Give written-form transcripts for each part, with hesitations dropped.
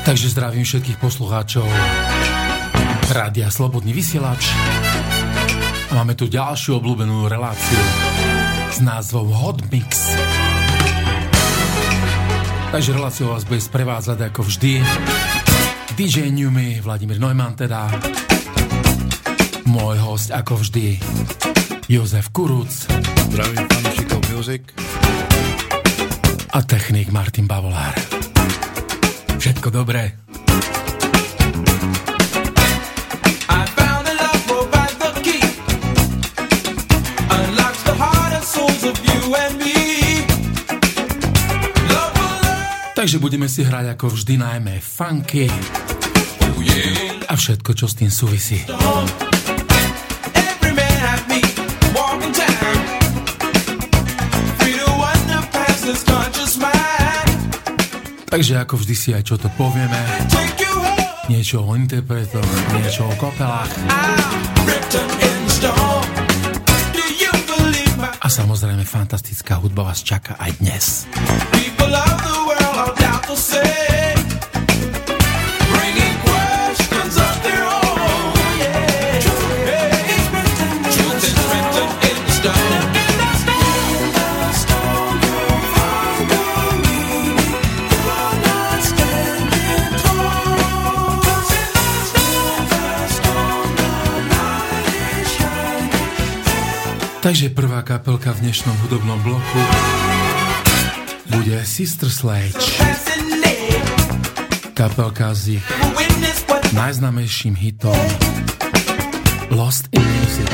Takže zdravím všetkých poslucháčov Rádia Slobodný vysielač. A máme tu ďalšiu obľúbenú reláciu s názvom Hot Mix. Takže reláciu vás bude sprevádzať ako vždy DJ Newmy, Vladimír Neumann teda. Môj host ako vždy Jozef Kuruc. Zdravím fanúšikov Music. A technik Martin Bavolár. Všetko dobré. Takže budeme si hrať ako vždy najmä funky a všetko, čo s tým súvisí. Takže ako vždy si aj čo to povieme. Niečo o interpretoch, niečo o kopelách. A samozrejme fantastická hudba vás čaká aj dnes. Takže prvá kapelka v dnešnom hudobnom bloku bude Sister Sledge. Kapelka s ich najznámejším hitom Lost in Music.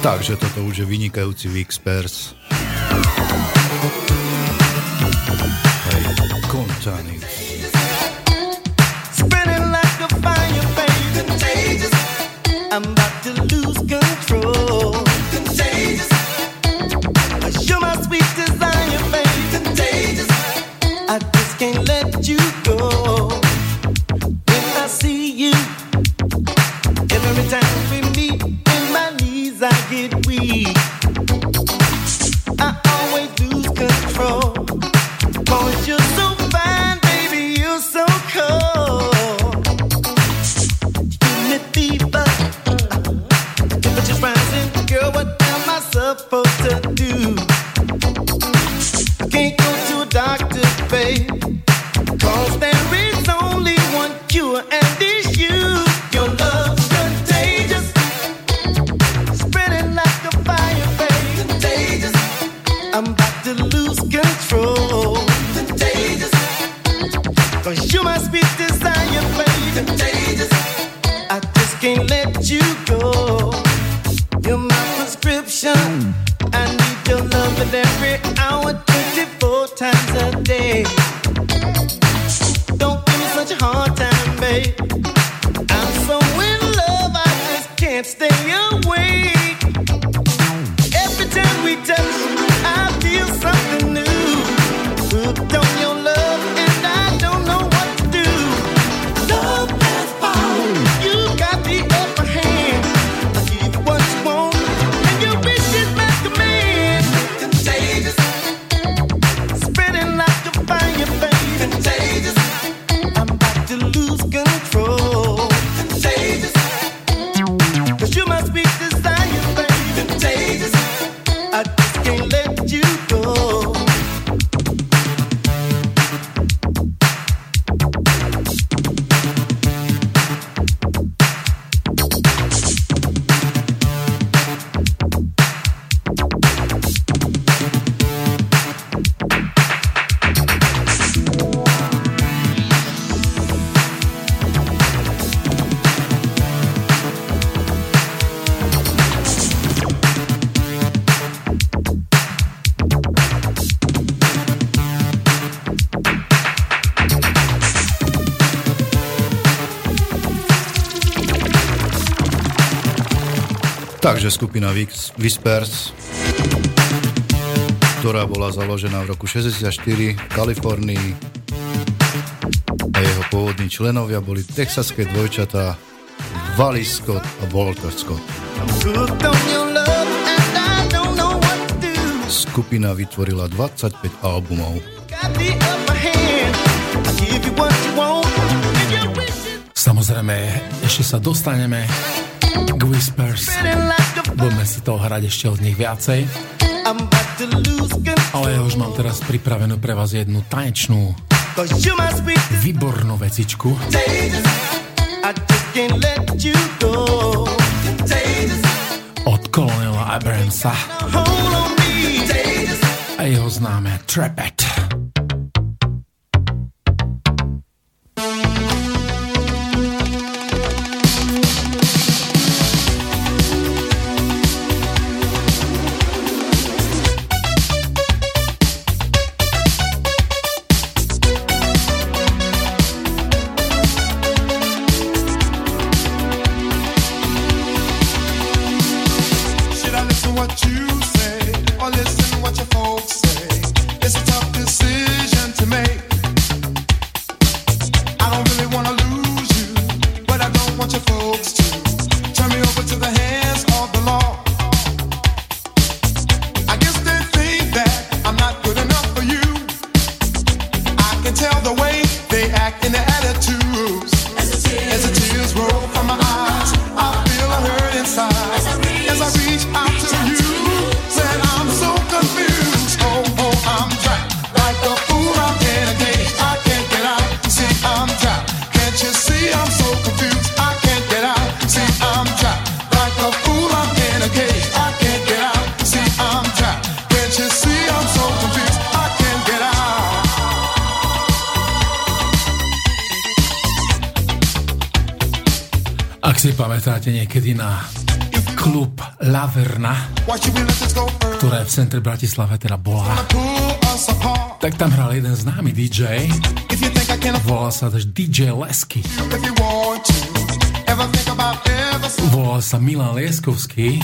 Takže toto už je vynikajúci Whispers. Hej, Contanis. Spreading like a fire, baby. Contagious. I'm about to lose control. Contagious. You're my sweet desire, baby. Contagious. I just can't let you go. When I see you, every time we meet, in my knees I get weak. I always lose control. 'Cause you're so fine, baby, you're so cold. You give me fever, temperature's rising. Girl, what am I supposed to do? I can't go to a doctor, babe, 'cause there is only one cure, and it's you. Your love's contagious, spreading like a fire, babe. Contagious. I'm about to lose control. Contagious. 'Cause you're my sweet desire, baby. Contagious. I just can't let you go. You're my prescription. I need your love every hour, 24 times a day. Don't give me such a hard time, babe. I'm so in love, I just can't stay awake. Every time we touch, I feel something new. Hooked on your love, and I don't know what to do. Love has power, you got the upper hand. I'll give you what you want, and your wish is my command. Contagious, spreading like a fire, baby. Contagious, I'm about to lose control. Contagious, 'cause you're my sweet desire, baby. Contagious, I just can't let you go. Takže skupina Whispers, ktorá bola založená v roku 64 v Kalifornii a jeho pôvodní členovia boli texaské dvojčatá Wally Scott a Walter Scott. Skupina vytvorila 25 albumov. Samozrejme, ešte sa dostaneme k Whispers. Budeme si toho hrať ešte od nich viacej. Ale ja už mám teraz pripravenú pre vás jednu tanečnú výbornú vecičku. Od Colonela Abramsa a jeho známe Trap It. Ak si pamätáte niekedy na klub Laverna, ktorá je v centre Bratislave teda bola. Tak tam hral jeden známy DJ, volal sa DJ Lesky. Volal sa Milan Lieskovský.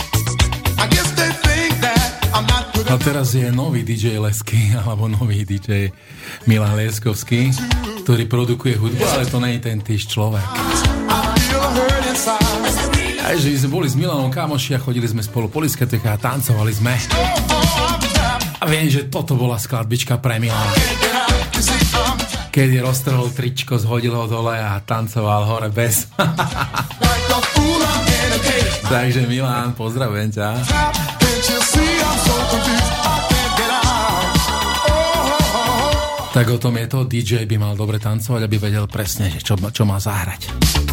A teraz je nový DJ Lesky, alebo nový DJ Milan Lieskovský, ktorý produkuje hudbu, ale to nie je ten týž človek. Aj že sme boli s Milanom kamoši a chodili sme spolu po diskoteke a tancovali sme. A viem, že toto bola skladbička pre Milana. Keď roztrhol tričko, zhodil ho dole a tancoval hore bez. Takže Milan, pozdravujem ťa. Tak o tom je to, DJ by mal dobre tancovať, aby vedel presne, čo má zahrať.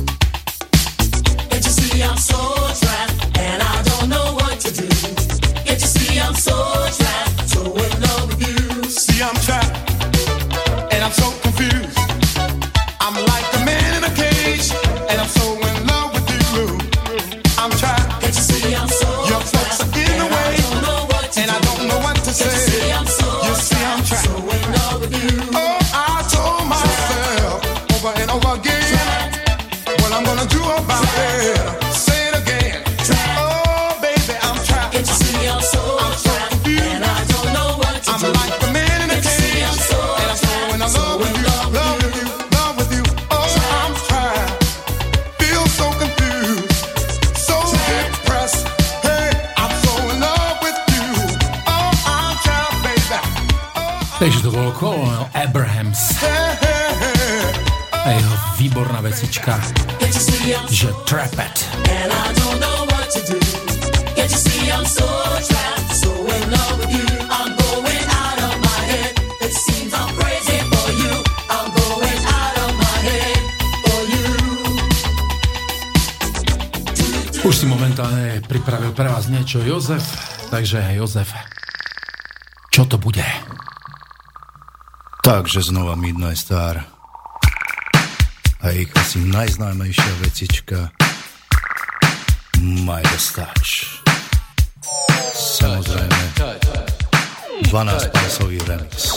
I'm so trapped and I don't know what to do. Can't you see I'm so trapped, so in love with you. See I'm trapped and I'm so confused. I'm like a man in a cage and I'm so in love with you. I'm trapped. Can't you see I'm so your folks are in the way and I don't know what to say. You see I'm trapped, so in love with you. Oh, I told myself over and over again what I'm gonna do about it. Takže to bol Colonel Abrahams a jeho výborná vecička, že Trap It. Už si momentálne pripravil pre vás niečo Jozef, takže Jozef, čo to bude? Takže znova Midnight Star a ich asi najznámejšia vecička Midas Touch. Samozrejme 12-pásový remix.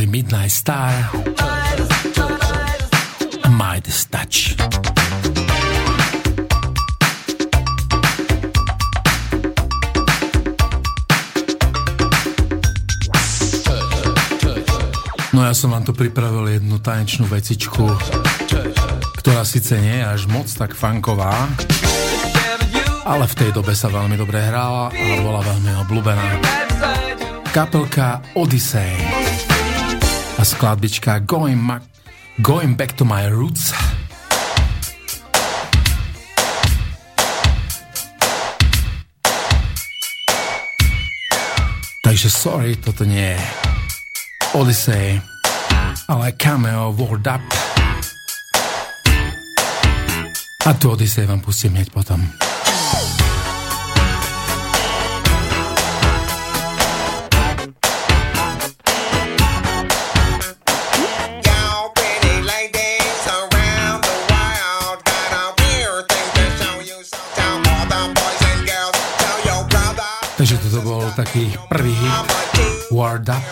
boli Midnight Star a Midas Touch. No ja som vám tu pripravil jednu tanečnú vecičku, ktorá síce nie je až moc tak funková, ale v tej dobe sa veľmi dobre hrála a bola veľmi obľúbená. Kapelka Odyssey a skladbička Going Back to My Roots. Takže sorry, toto nie je Odyssey, ale Cameo Word Up. A tu Odyssey vám pustím hneď potom. Takže toto bol taký prvý hit Word Up,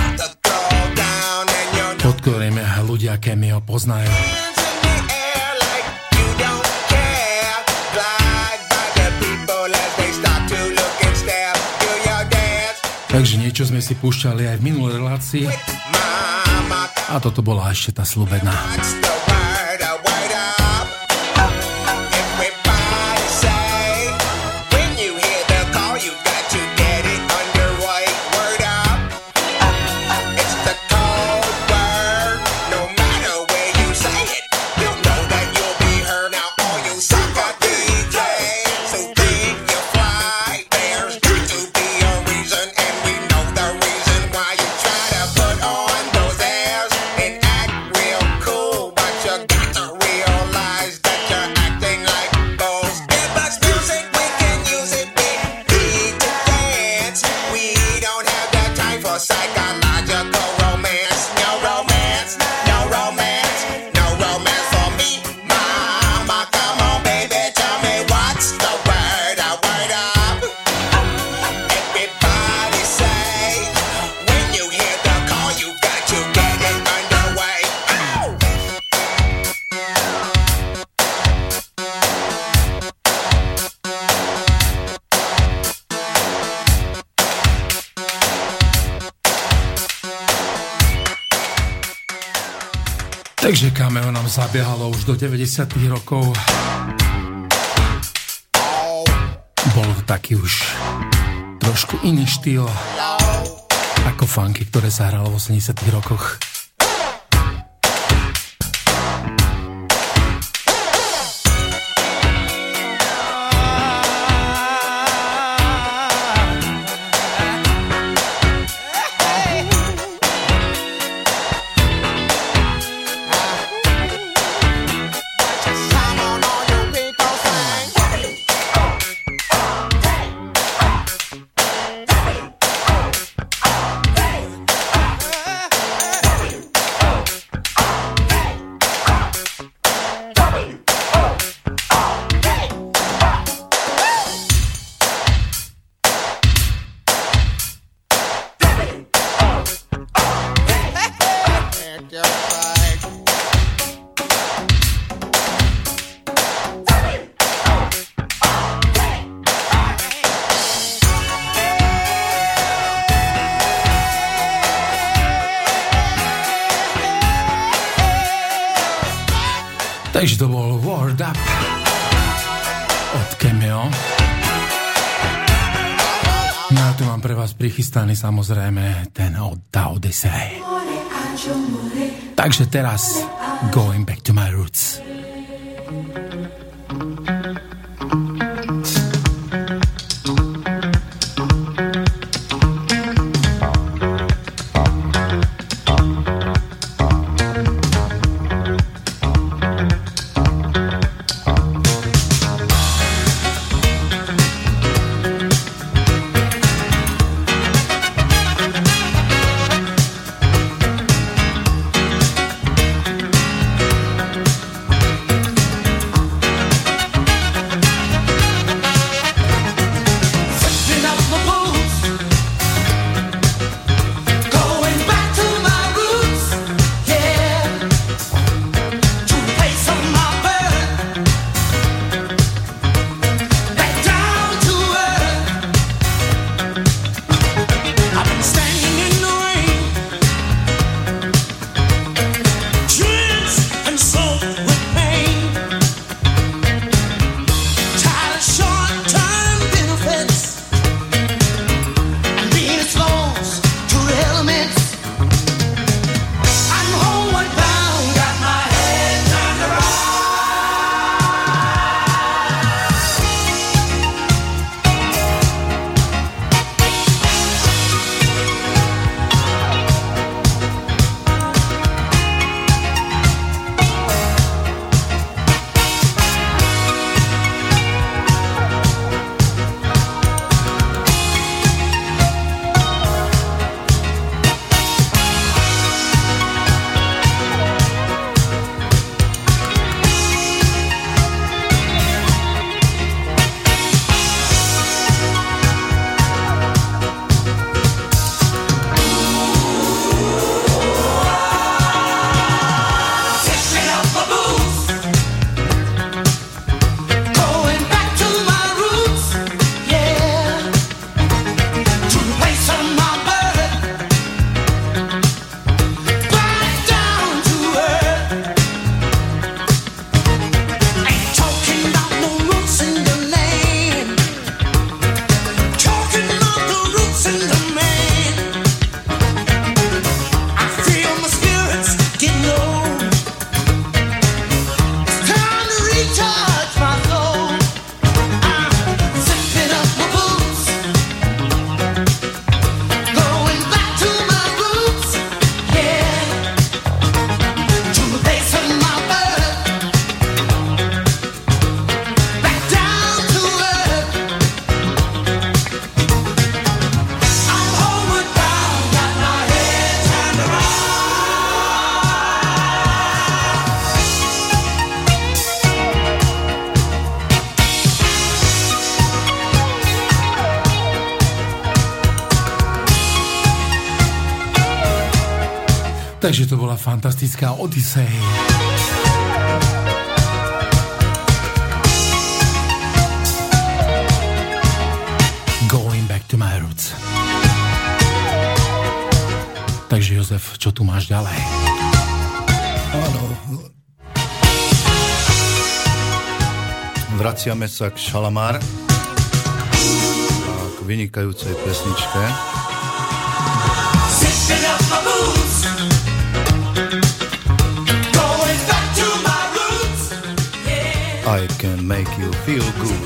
pod ktorým ľudia Cameo poznajú. Takže niečo sme si púšťali aj v minulej relácii a toto bola ešte tá sľubená. Takže Cameo nám zabiehalo už do 90. rokov. Bol to taký už trošku iný štýl ako funky, ktoré sa hralo v 80. rokoch. Takže to bol Word Up od Cameo. No a tu mám pre vás prichystaný samozrejme ten od Odyssey. Takže teraz Going Back to My Roots. Takže to bola fantastická Odyssey. Going back to my roots. Takže Jozef, čo tu máš ďalej? Áno. Vraciame sa k Shalamar a k vynikajúcej pesničke. I can make you feel good.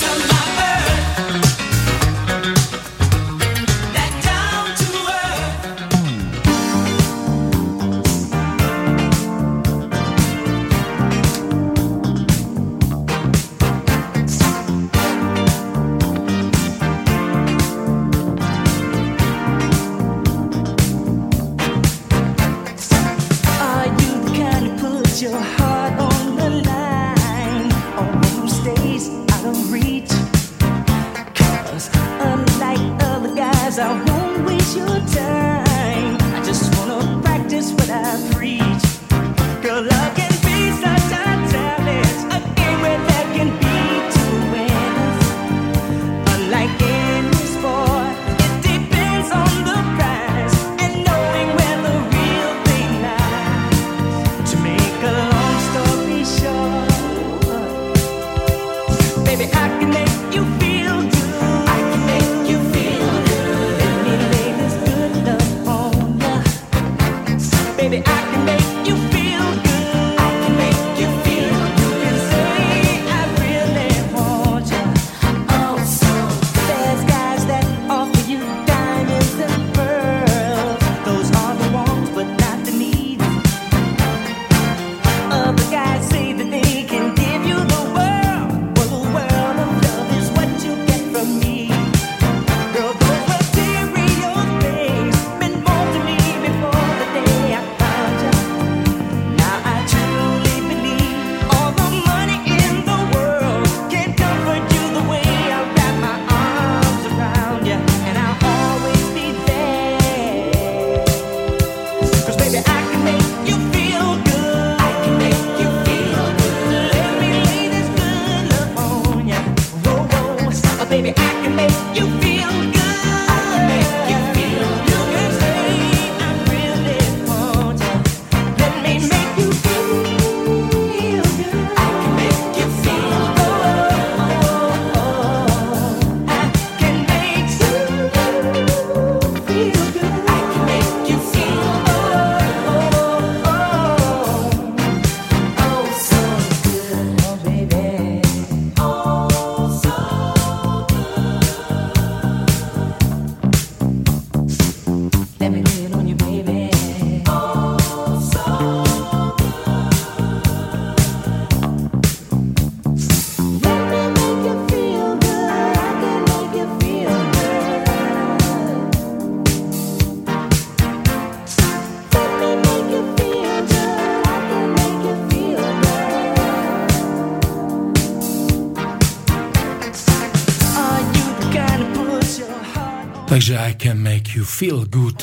Takže I can make you feel good.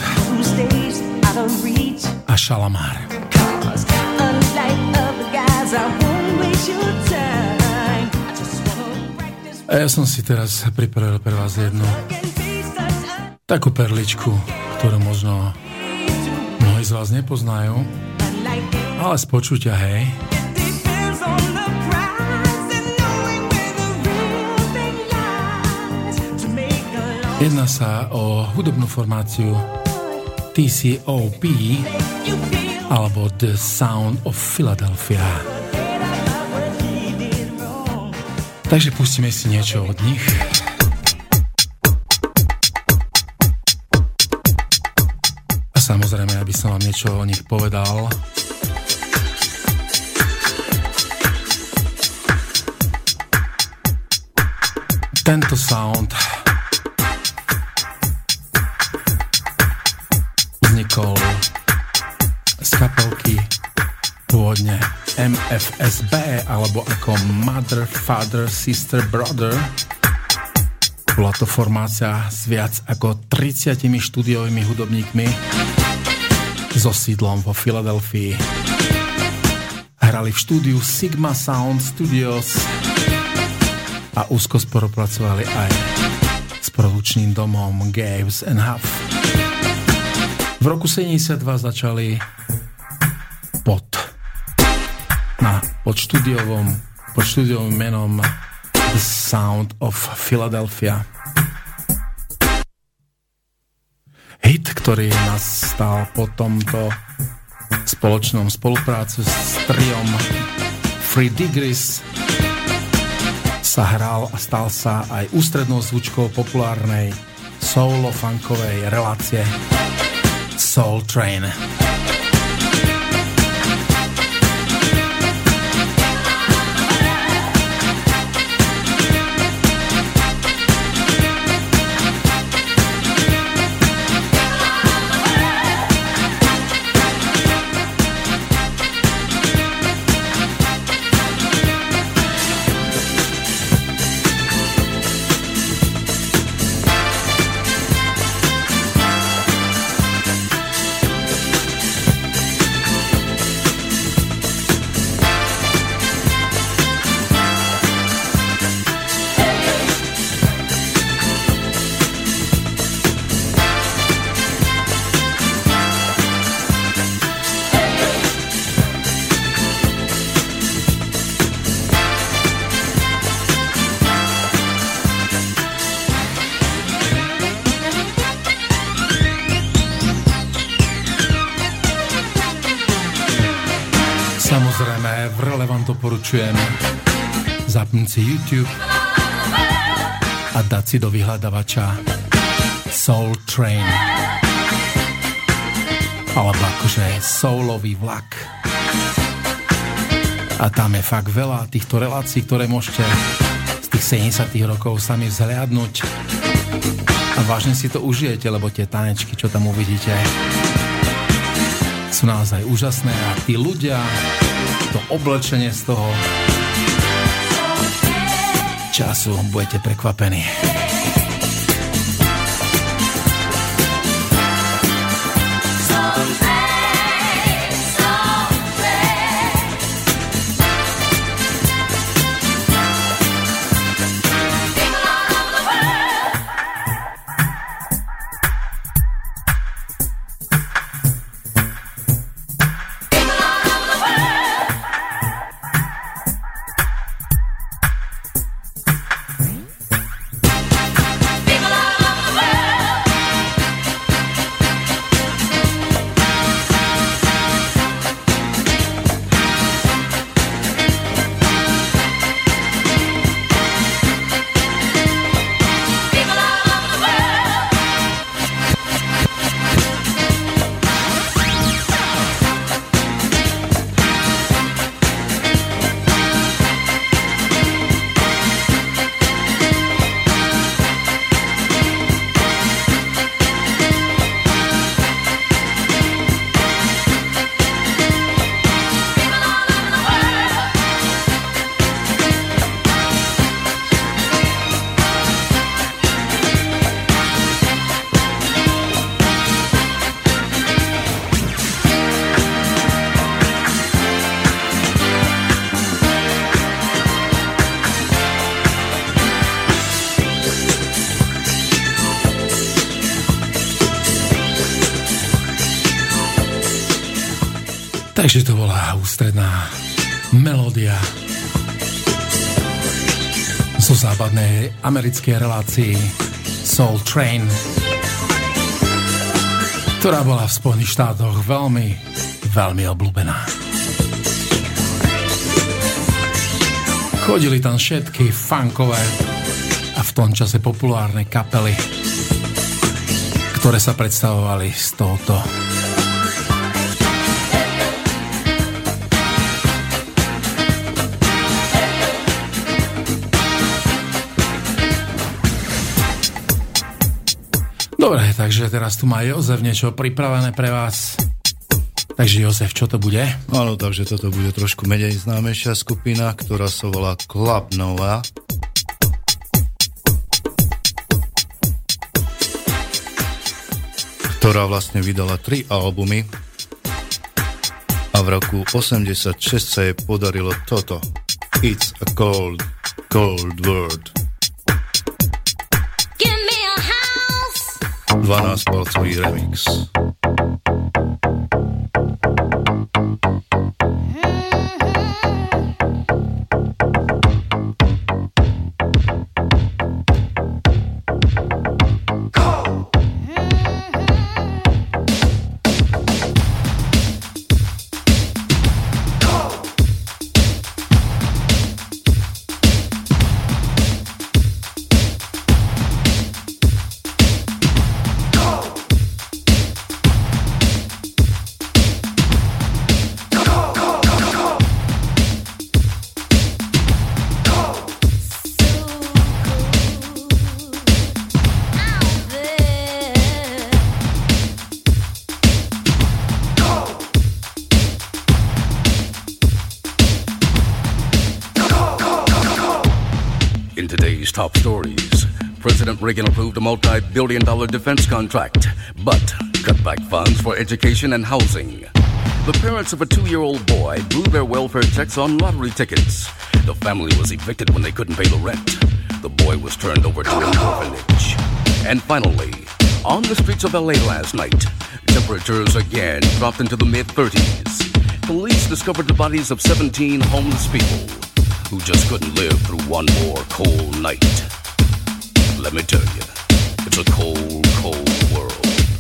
A Shalamar. A ja som si teraz pripravil pre vás jednu takú perličku, ktorú možno mnohí z vás nepoznajú, ale z počutia, hej. Jedná sa o hudobnú formáciu TCOP alebo The Sound of Philadelphia. Takže pustíme si niečo od nich. A samozrejme, aby som vám niečo o nich povedal. Tento sound vznikol z kapelky pôvodne MFSB, alebo ako Mother, Father, Sister, Brother. Bola to formácia s viac ako 30 štúdiovými hudobníkmi. so sídlom vo Filadelfii. Hrali v štúdiu Sigma Sound Studios a úzko spolupracovali aj s produkčným domom Gaves & Huff. V roku 72 začali pod štúdiovým menom The Sound of Philadelphia. Hit, ktorý nastal po tomto spoločnom spolupráci s triom Three Degrees, sa hral a stal sa aj ústrednou zvučkou populárnej soulo-funkovej relácie Soul Train. Doporučujem zapnúť si YouTube a dať si do vyhľadavača Soul Train alebo akože soulový vlak. A tam je fakt veľa týchto relácií, ktoré môžete z tých 70 rokov sami vzhliadnúť a vážne si to užijete, lebo tie tanečky, čo tam uvidíte, sú naozaj úžasné a tí ľudia, to oblečenie z toho času, budete prekvapení. Takže to bola ústredná melódia zo západnej americkej relácii Soul Train, ktorá bola v Spojených štátoch veľmi, veľmi obľúbená. Chodili tam všetky funkové a v tom čase populárne kapely, ktoré sa predstavovali s touto Dobre, takže teraz tu má Jozef niečo pripravené pre vás. Takže Jozef, čo to bude? Áno, takže toto bude trošku menej známejšia skupina, ktorá sa volá Club Nova. Ktorá vlastne vydala 3 albumy A v roku 86 sa jej podarilo toto. It's a cold, cold world. 12-palcový remix. Top stories. President Reagan approved a multi-billion-dollar defense contract, but cut back funds for education and housing. The parents of a 2-year-old boy blew their welfare checks on lottery tickets. The family was evicted when they couldn't pay the rent. The boy was turned over to an orphanage. And finally, on the streets of LA last night, temperatures again dropped into the mid-30s. Police discovered the bodies of 17 homeless people who just couldn't live through one more cold night. Let me tell you, it's a cold, cold world.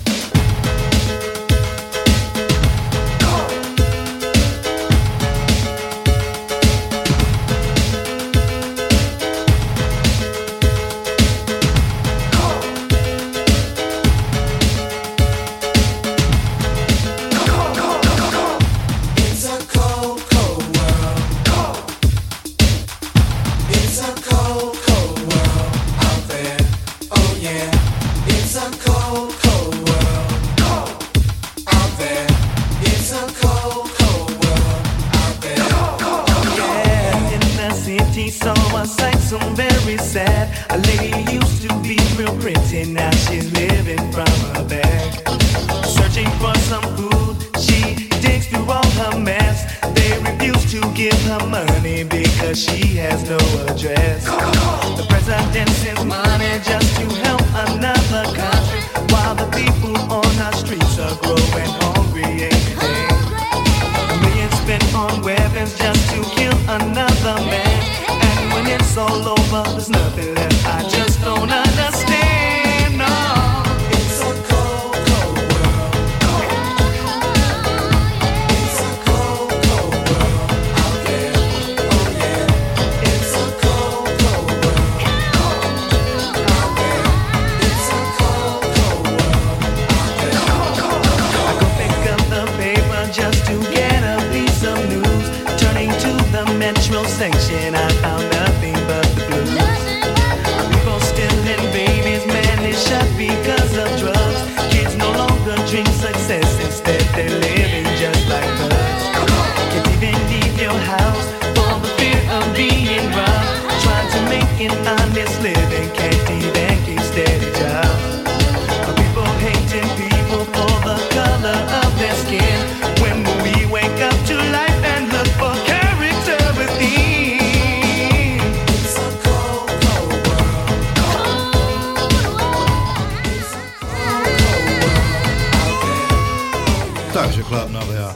Takže Chladná Bea.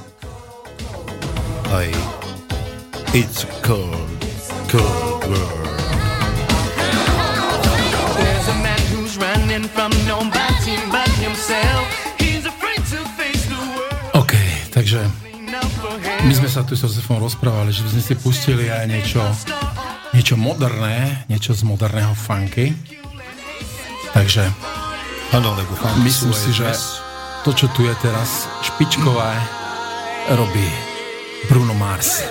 Aj It's cold, cold world. There's a man who's running from nobody but himself. He's afraid to face the world. OK, takže my sme sa tu s Josefom rozprávali, že by sme si pustili aj niečo moderné, niečo z moderného funky. Takže ano, lebo funky myslím si, že to, čo tu je teraz špičkové, robí Bruno Mars.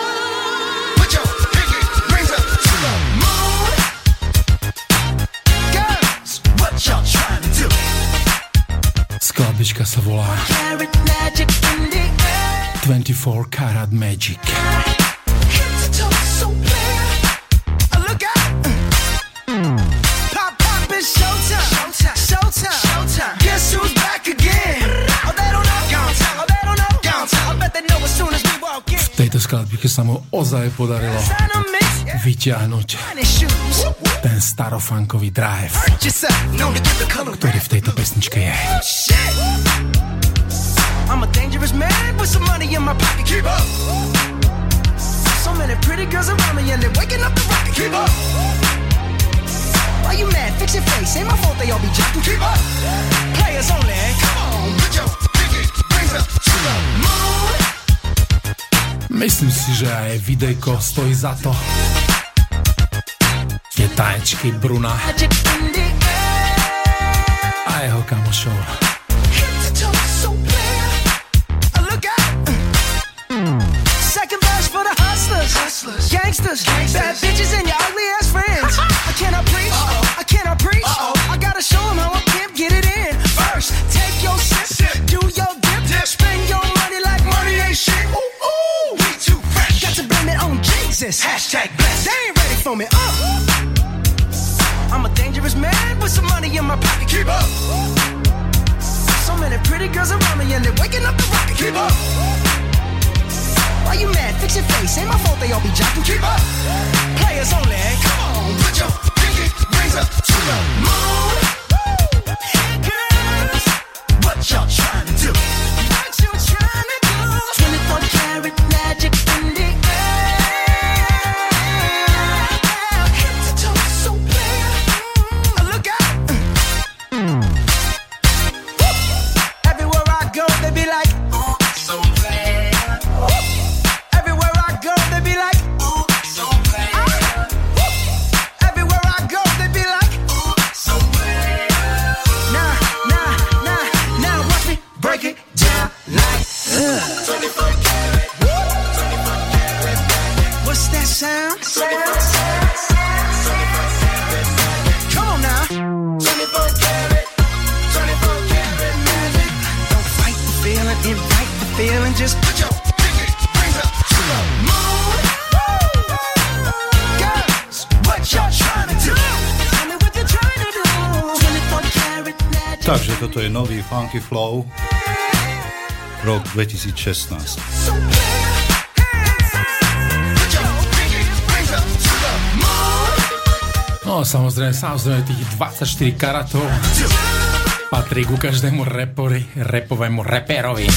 Skladbička sa volá 24 Karat Magic. Guess who's back again? Oh, they don't know. I bet they know what's skladbe, keď sa mu ozaj podarilo vyťahnuť ten starofunkový drive, ktorý v tejto pesničke je. I'm a dangerous man with some money in my pocket. Keep up. So many pretty girls around me and they're waking up the rocket. Keep up. Why you mad? Fix your face. Ain't my fault they all be jacking. Keep up. Players only. Come on, put your pinky rings up to the moon. Myslím si, že aj videjko stojí za to. Tie tanečky Bruna a jeho kamošov. Gangsters, bad bitches and your ugly ass friends. I cannot preach, I cannot preach. I gotta show them how a pimp get it in. First, take your sip, do your dip, spend your money like money ain't shit. Ooh, ooh, we too fresh. Got to blame it on Jesus. Hashtag blessed. They ain't ready for me. I'm a dangerous man with some money in my pocket. Keep up. So many pretty girls around me and they're waking up the rocket. Keep up. Why you mad? Fix your face. Ain't my fault they all be jocking. Keep up. Players only. Come on, put your pinky rings up to the moon. Hey girls, what y'all trying to do? What you trying to do? 24 karat magic in the air. Head to toe so clear. Look out. Everywhere I go, they be like, oh, so clear. What's that sound? Come on now. 24 karat magic. Don't fight the feeling, invite the feeling. Just put your pinky rings up to the moon. Girls, what y'all trying to do? Tell me what you're trying to do. 24 karat magic. Takže toto je nový Funky Flow, rok 2016. No samozrejme tých 24 karatov patrí ku každému rapovému reperovi.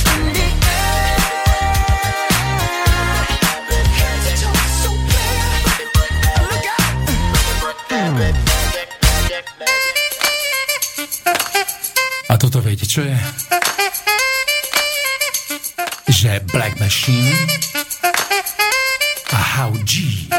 A toto viete, čo je? Že Black Machine a How G.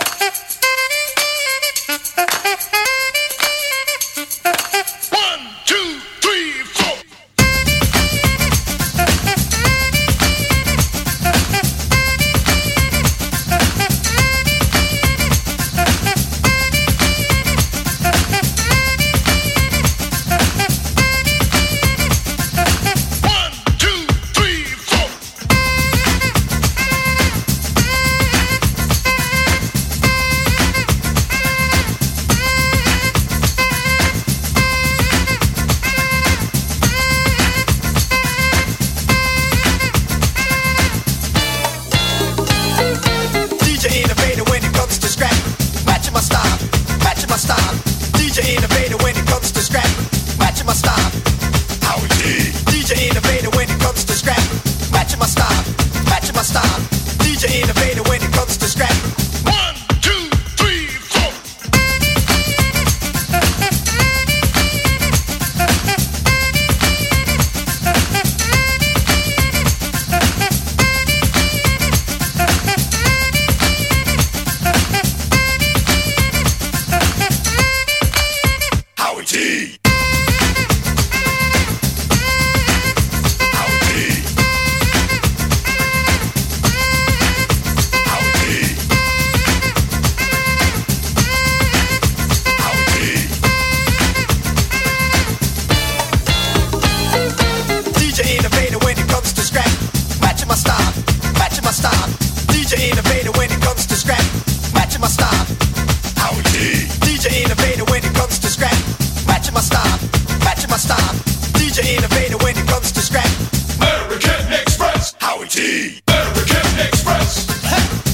American Express. Howie T. American Express.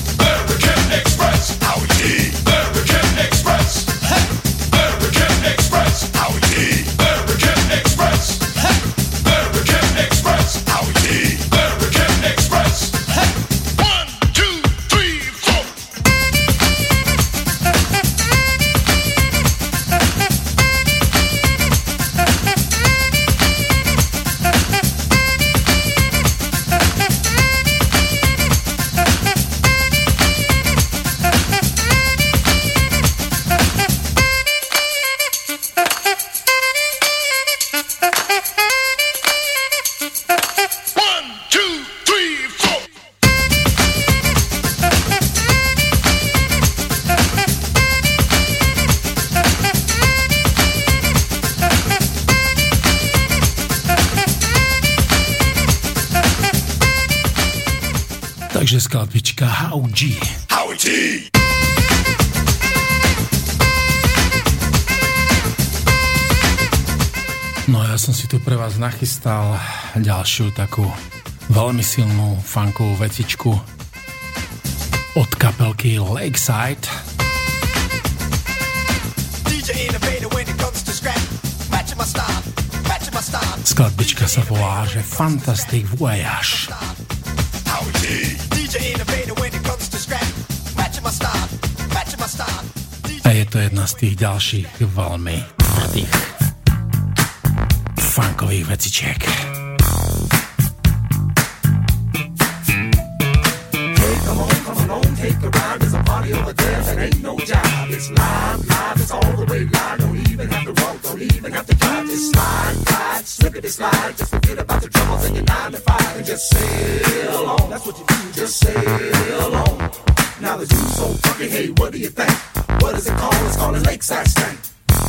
Takže skladbička Howie G. Howie G. No ja som si tu pre vás nachystal ďalšiu takú veľmi silnú funkovú vecičku od kapelky Lakeside. Skladbička sa volá, že Fantastic Voyage. A je to jedna z tých ďalších veľmi tvrdých funkových vecičiek. Take a ride, there's a party over there that ain't no job. It's live, it's all the way live. Don't even have to walk, don't even have to drive. Just slide, slippity slide. Just forget about the troubles in your 9 to 5 and just sail on. That's what you do, just sail on. Now the dude's so funky, hey, what do you think? What is it called? It's called a Lakeside Stank.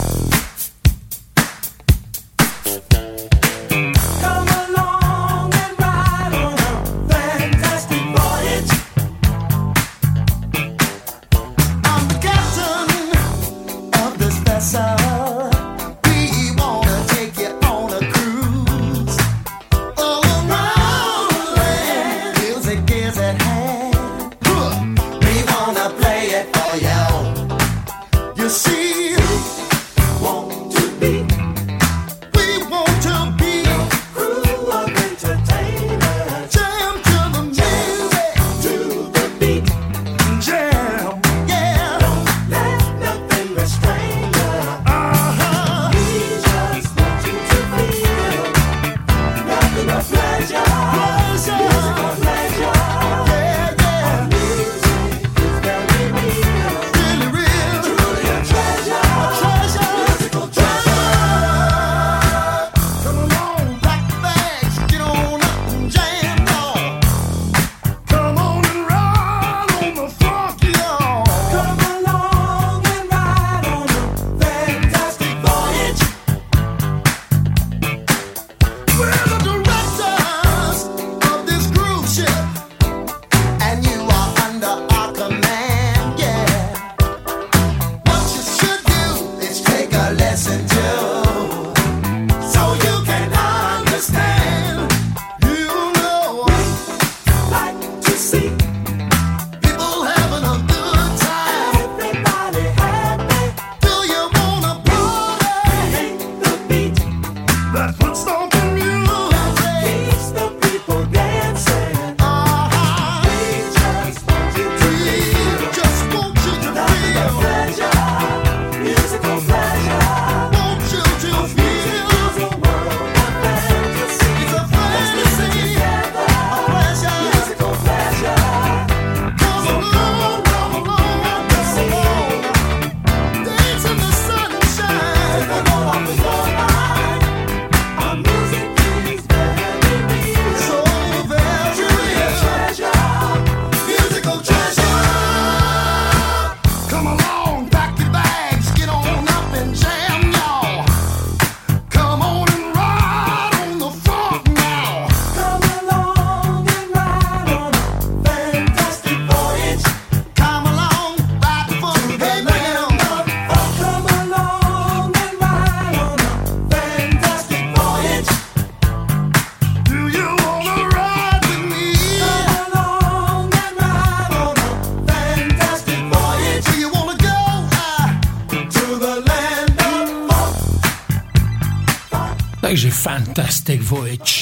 Takže Fantastic Voyage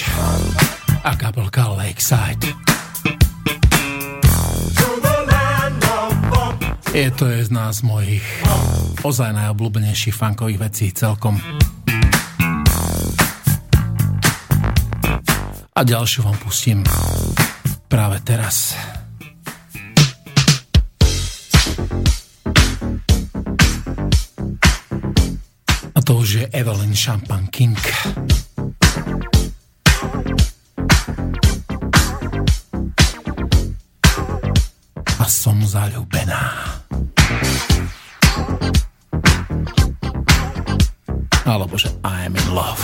a kapelka Lakeside. Je to jedna z mojich ozaj najobľúbenejších funkových vecí celkom. A ďalšiu vám pustím práve teraz. A to už je Evelyn Champagne King. A som zaľúbená. Alebo že I'm in love.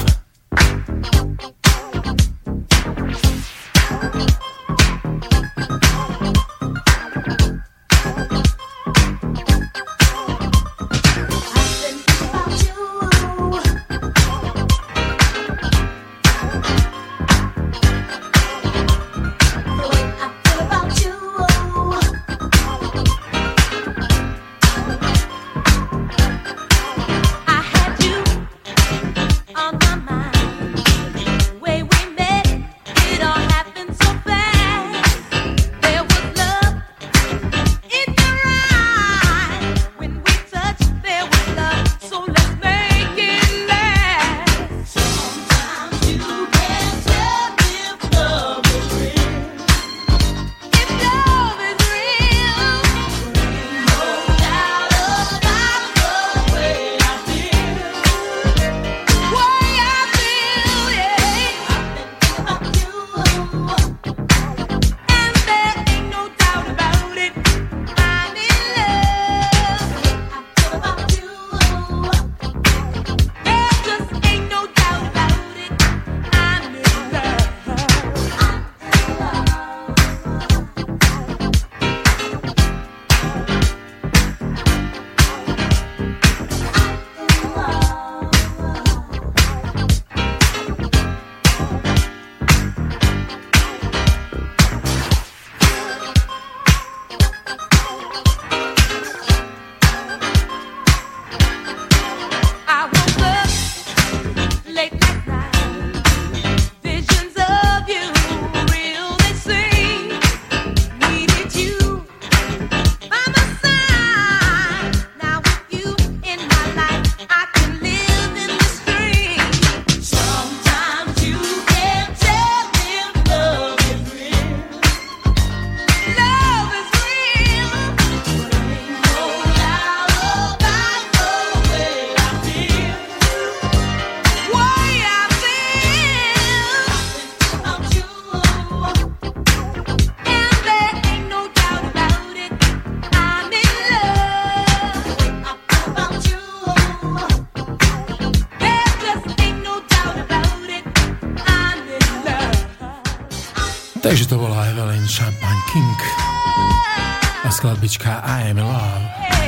Takže to bola Evelyn Champagne King a skladbička I Am in Love.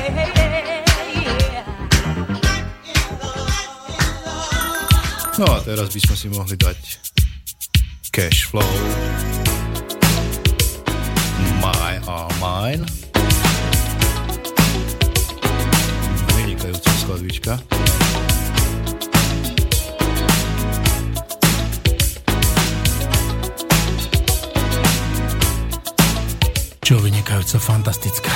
No a teraz by sme si mohli dať Cash Flow, My Are Mine. Vynikajúca skladbička. Čo vynikajúca, fantastická.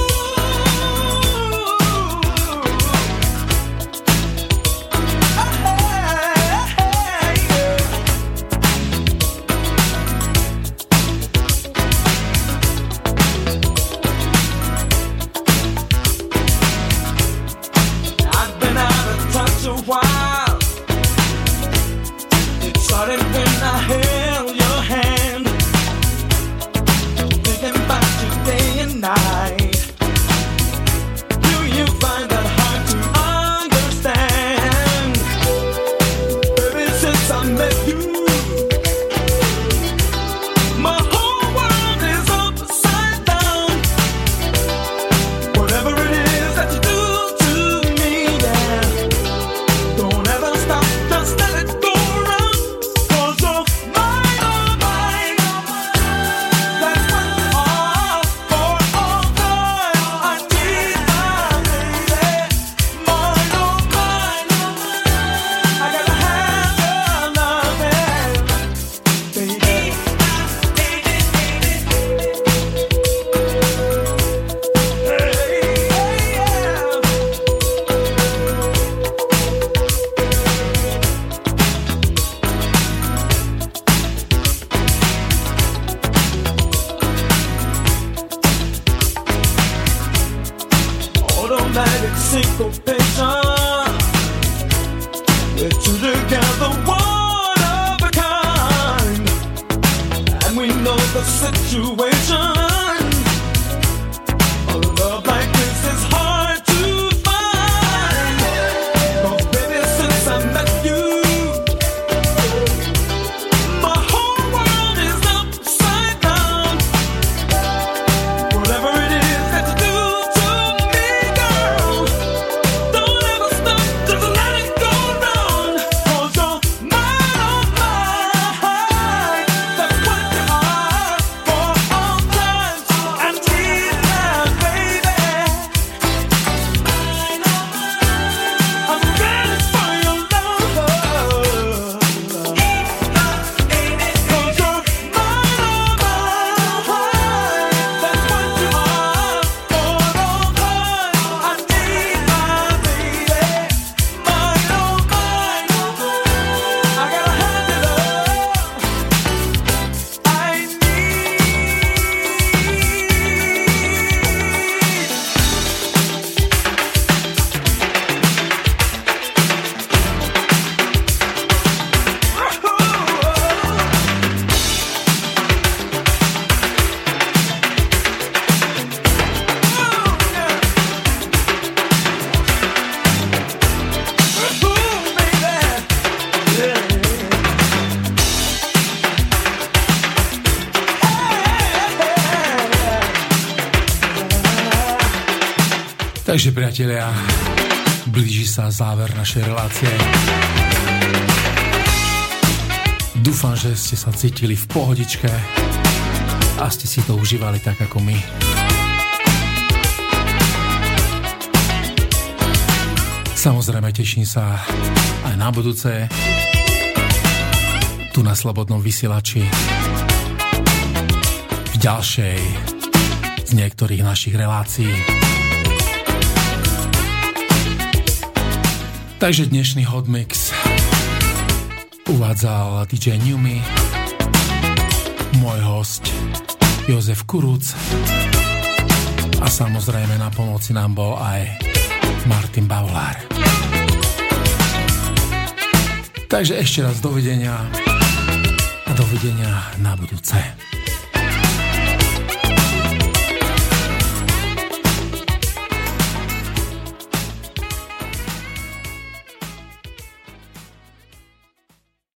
Takže priatelia, blíži sa záver našej relácie. Dúfam, že ste sa cítili v pohodičke a ste si to užívali tak ako my. Samozrejme teším sa aj na budúce tu na Slobodnom vysielači v ďalšej z niektorých našich relácií. Takže dnešný Hot Mix uvádzal DJ Newmy, môj host Jozef Kuruc a samozrejme na pomoci nám bol aj Martin Bavolár. Takže ešte raz dovidenia a dovidenia na budúce.